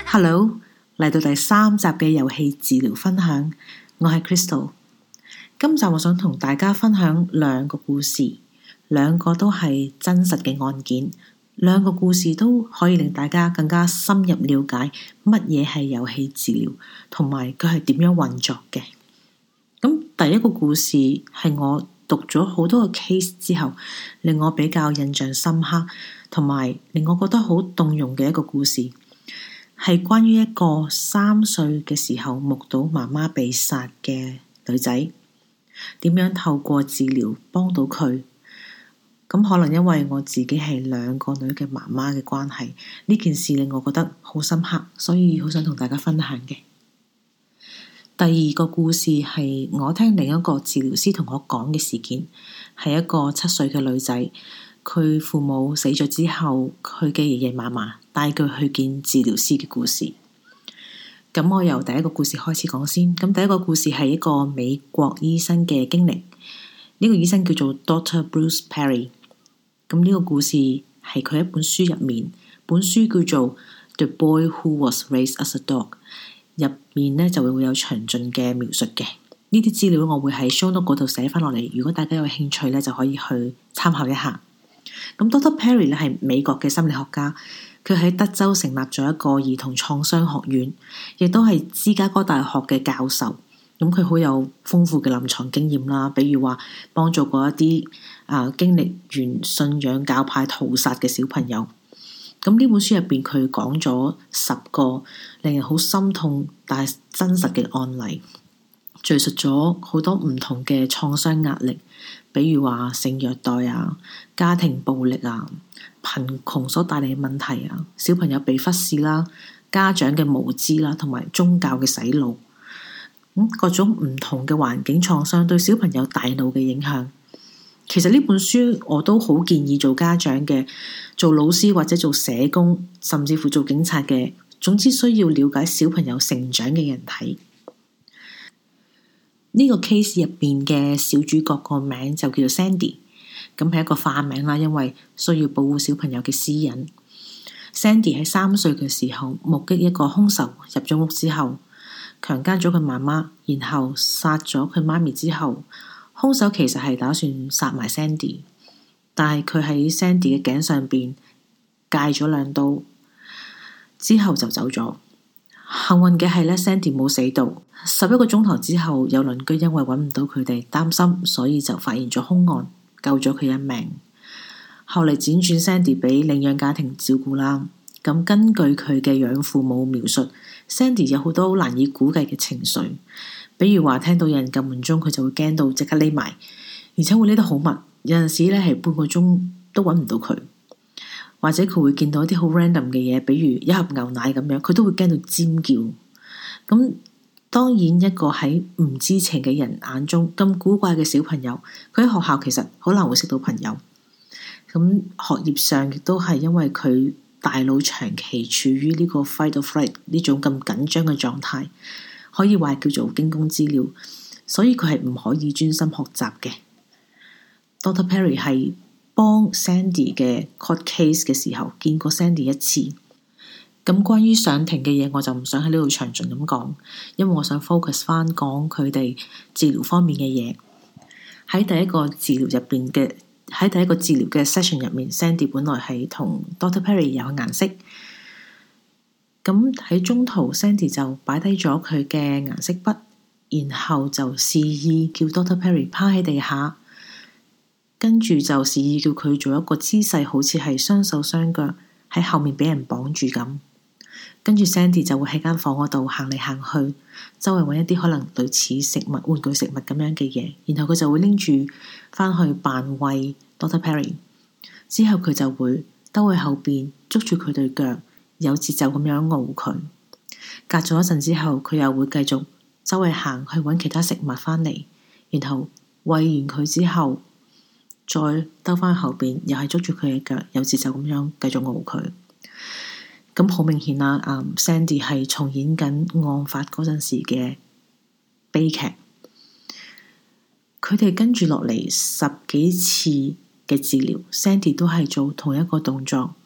Hello，嚟到第3集嘅遊戲治療分享，我係 Crystal。今集我想同大家分享2個故事，2個都係真實嘅案件，2個故事都可以令大家更加深入了解乜嘢係遊戲治療，同埋佢係點樣運作嘅。咁第一個故事係我讀咗好多個 case 之後，令我比較印象深刻，同埋令我覺得好動容嘅一個故事。係關於一個3歲嘅時候目睹媽媽被殺嘅女仔，點樣透過治療幫到佢。咁可能因為我自己係2個女嘅媽媽嘅關係，呢件事令我覺得好深刻，所以好想同大家分享嘅。第2個故事係我聽另一個治療師同我講嘅事件，係一個7歲嘅女仔，佢父母死咗之後，佢嘅爺爺嫲嫲帶佢去見治療師嘅故事。咁我由第一個故事開始講先。咁第一個故事係一個美國醫生嘅經歷。呢個醫生叫做 Dr. Bruce Perry。咁呢個故事係佢一本書入面，本書叫做 The Boy Who Was Raised as a Dog。入面呢就會有詳盡嘅描述嘅。呢啲資料我會喺 show note 嗰度寫翻落嚟，如果大家有興趣呢，就可以去參考一下。咁 Dr. Perry 咧係美國嘅心理學家，佢喺德州成立咗一個兒童創傷學院，亦都係芝加哥大學嘅教授。咁佢好有豐富嘅臨床經驗啦，比如話幫助過一啲經歷完信仰教派屠殺嘅小朋友。咁呢本書入邊佢講咗10個令人好心痛但係真實嘅案例，敘述咗好多唔同嘅創傷壓力，比如話性虐待啊、家庭暴力啊、貧窮所帶嚟嘅問題啊、小朋友被忽視啦、家長嘅無知啦，同埋宗教嘅洗腦。各種唔同嘅環境創傷對小朋友大腦嘅影響。其實呢本書我都好建議做家長嘅、做老師或者做社工，甚至乎做警察嘅，總之需要了解小朋友成長嘅人睇。呢個 case 入邊嘅小主角個名就叫做 Sandy， 咁係一個化名啦，因為需要保護小朋友嘅私隱。Sandy 喺3歲嘅時候目擊一個兇手入咗屋之後，強姦咗佢媽媽，然後殺咗佢媽咪之後，兇手其實係打算殺埋 Sandy， 但係佢喺 Sandy 嘅頸上邊界咗2刀，之後就走咗。幸運嘅係咧 Sandy 冇死到。11個鐘頭之後，有鄰居因為揾唔到佢哋，擔心，所以就發現咗兇案，救咗佢一命。後嚟輾轉 Sandy 俾領養家庭照顧啦。咁根據佢嘅養父母描述， Sandy 有好多好難以估計嘅情緒，比如話聽到有人撳門鐘，佢就會驚到即刻匿埋，而且會匿得好密，有陣時咧係半個鐘都揾唔到佢。或者佢會見到一啲好 random 嘅嘢，比如一盒牛奶咁樣，佢都會驚到尖叫。咁當然一個喺唔知情嘅人眼中咁古怪嘅小朋友，佢喺學校其實好難會識到朋友。咁學業上亦都係因為佢大腦長期處於呢個 fight or flight 呢種咁緊張嘅狀態，可以話叫做驚弓之鳥，所以佢係唔可以專心學習嘅。Dr. Perry 係幫 Sandy 嘅 court case 嘅時候見過 Sandy 一次。咁關於上庭嘅嘢我就唔想喺呢度詳盡咁講，因為我想 focus 翻講佢哋治療方面嘅嘢。喺第一個治療嘅 session 入面， Sandy 本來係同 Dr. Perry 有顏色。咁喺中途 Sandy 就擺低咗佢嘅顏色筆，然後就示意叫 Dr. Perry 趴喺地下，跟住就示意叫佢做一個姿勢，好似係雙手雙腳喺後面俾人綁住咁。跟住 Sandy 就會喺間房嗰度行嚟行去，周圍揾一啲可能類似食物、玩具食物咁樣嘅嘢，然後佢就會拎住翻去扮餵 Dr. Perry。之後佢就會兜去後邊捉住佢對腳，有節奏咁樣熬佢。隔咗一陣之後，佢又會繼續周圍行去揾其他食物翻嚟，然後餵完佢之後，再兜翻去後邊，又係捉住佢嘅腳，有節奏咁樣繼續熬佢。咁好明顯啦，Sandy 係重演緊案發嗰陣時嘅悲劇。佢哋跟住落嚟10幾次嘅治療，Sandy 都係做同一個動作，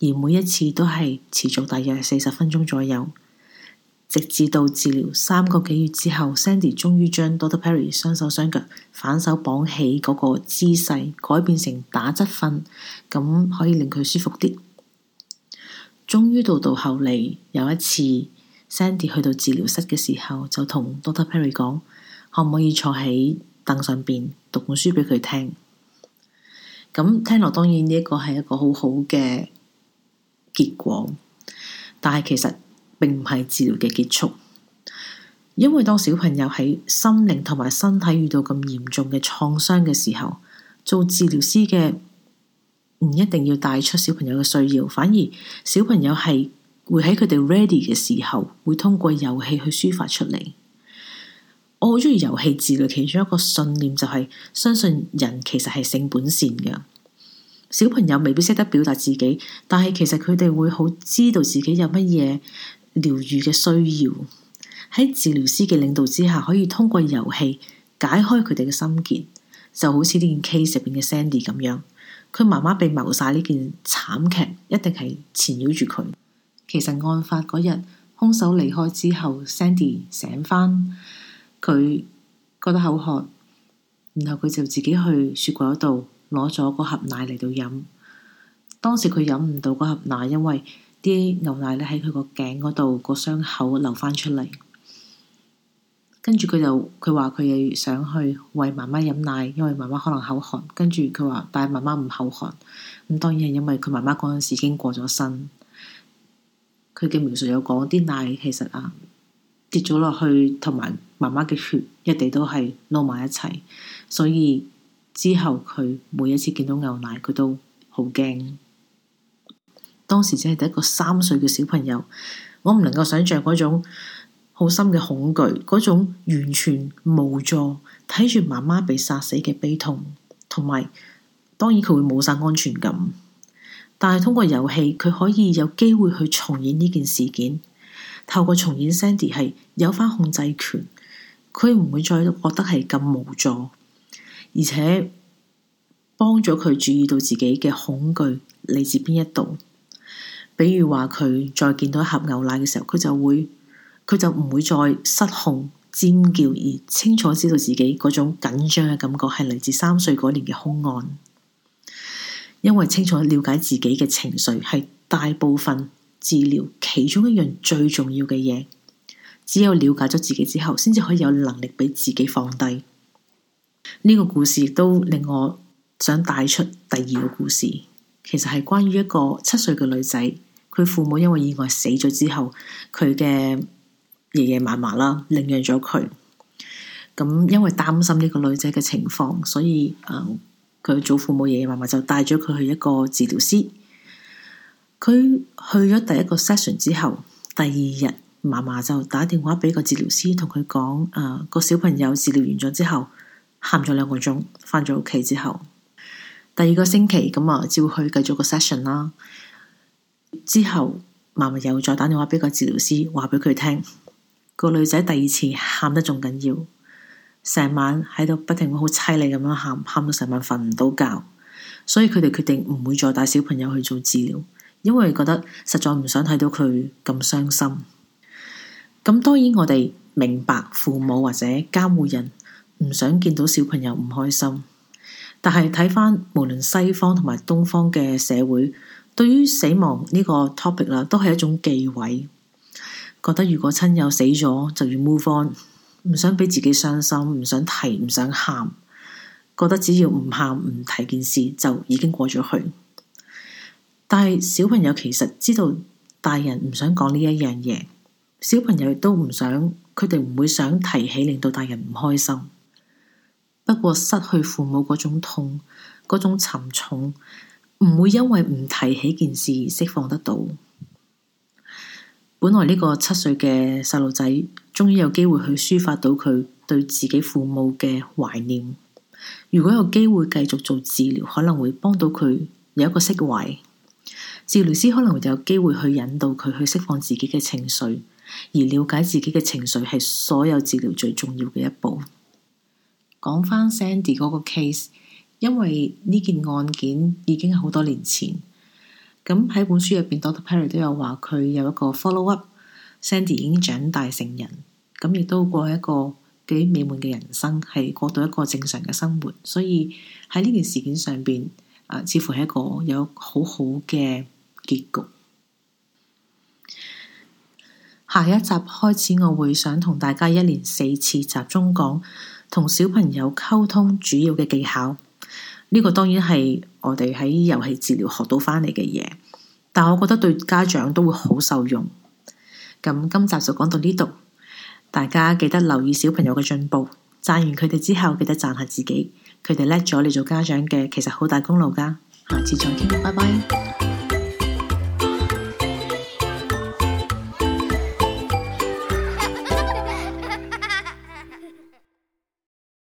而每一次都係持續大約40分鐘左右，直至到治療3個幾月之後，Sandy 終於將 Dr. Perry 雙手雙腳反手綁起嗰個姿勢改變成打側瞓，咁可以令佢舒服啲。終於到後嚟有一次 Sandy 去到治療室嘅時候，就同 Dr. Perry 講，可唔可以坐喺凳上邊讀本書俾佢聽。咁聽落當然呢一個係一個好好嘅結果，但係其實並唔係治療嘅結束，因為當小朋友喺心靈同埋身體遇到咁嚴重嘅創傷嘅時候，做治療師嘅唔一定要帶出小朋友嘅需要，反而小朋友係會喺佢哋 ready 嘅時候，會通過遊戲去抒發出嚟。我好中意遊戲治療，其中一個信念就係相信人其實係性本善嘅。小朋友未必識得表達自己，但係其實佢哋會好知道自己有乜嘢療癒嘅需要。喺治療師嘅領導之下，可以通過遊戲解開佢哋嘅心結，就好似呢件 case 入邊嘅 Sandy 咁樣。佢媽媽被謀殺呢件慘劇一定係纏繞住佢。其實案發嗰日，兇手離開之後 Sandy 醒返，佢覺得口渴，然後佢就自己去雪櫃嗰度攞咗嗰盒奶嚟到飲。當時佢飲唔到嗰盒奶，因為啲牛奶咧喺佢個頸嗰度個傷口流翻出嚟。跟住佢話佢又想去餵媽媽飲奶，因為媽媽可能口渴。跟住佢話，但係媽媽唔口渴。咁當然係因為佢媽媽嗰陣時已經過咗身。佢嘅描述有講啲奶其實跌咗落去，同埋媽媽嘅血一地都係撈埋一齊，所以之後佢每一次見到牛奶，佢都好驚。當時只係得一個3歲嘅小朋友，我唔能夠想象嗰種好深嘅恐懼，嗰種完全無助睇住媽媽被殺死嘅悲痛，同埋當然佢會冇晒安全感。但係通過遊戲，佢可以有機會去重演呢件事件。透過重演 Sandy 係有翻控制權，佢唔會再覺得係咁無助，而且幫咗佢注意到自己嘅恐懼嚟自邊一度。比如話佢再見到一盒牛奶嘅時候，佢就唔會再失控尖叫，而清楚知道自己嗰種緊張嘅感覺係嚟自3歲嗰年嘅兇案。因為清楚了解自己嘅情緒係大部分治療其中一樣最重要嘅嘢。只有了解咗自己之後，先至可以有能力俾自己放低。呢個故事亦都令我想帶出第2個故事，其實係關於一個7歲嘅女仔，佢父母因為意外死咗之後，佢嘅爺爺嫲嫲啦領養咗佢。咁因為擔心呢個女仔嘅情況，所以佢祖父母爺爺嫲嫲就帶咗佢去一個治療師。佢去咗第1個 session 之後，第2日嫲嫲就打電話俾個治療師，同佢講個小朋友治療完咗之後喊咗2個鐘，返咗屋企之後，第2個星期咁照去繼續個 session 啦。之後嫲嫲又再打電話俾個治療師，話俾佢聽個女仔第2次喊得仲緊要，成晚喺度不停好淒厲咁樣喊到成晚瞓唔到覺。所以佢哋決定唔會再帶小朋友去做治療，因為覺得實在唔想睇到佢咁傷心。咁當然我哋明白父母或者監護人唔想見到小朋友唔開心，但係睇返無論西方同埋東方嘅社會，對於死亡呢個 topic 啦，都係一種忌諱，覺得如果親友死咗就要 move on，唔想俾自己傷心，唔想提，唔想喊，覺得只要唔喊唔提件事就已經過咗去。但係小朋友其實知道大人唔想講呢一樣嘢，小朋友亦都唔想，佢哋唔會想提起令到大人唔開心。不過失去父母嗰種痛，嗰種沉重，唔會因為唔提起件事而釋放得到。本來呢個7歲嘅細路仔終於有機會去抒發到佢對自己父母嘅懷念。如果有機會繼續做治療，可能會幫到佢有一個釋懷。治療師可能會有機會去引導佢去釋放自己嘅情緒，而了解自己嘅情緒係所有治療最重要嘅一步。講返 Sandy 嗰個 case，因為呢件案件已經好多年前， 咁喺本書入邊 Dr. Perry 都有話佢有一個 follow up，Sandy 已經長大成人，咁亦都過一個幾美滿嘅人生，係過到一個正常嘅生活。所以喺呢件事件上邊，似乎係一個有好好嘅結局。下一集開始，我會想同大家一連4次集中講同小朋友溝通主要嘅技巧。呢個當然係我哋喺遊戲治療學到翻嚟嘅嘢，但我覺得對家長都會好受用。咁今集就講到呢度，大家記得留意小朋友嘅進步，讚完佢哋之後記得讚下自己，佢哋叻咗，你做家長嘅其實好大功勞㗎。下次再傾，拜拜。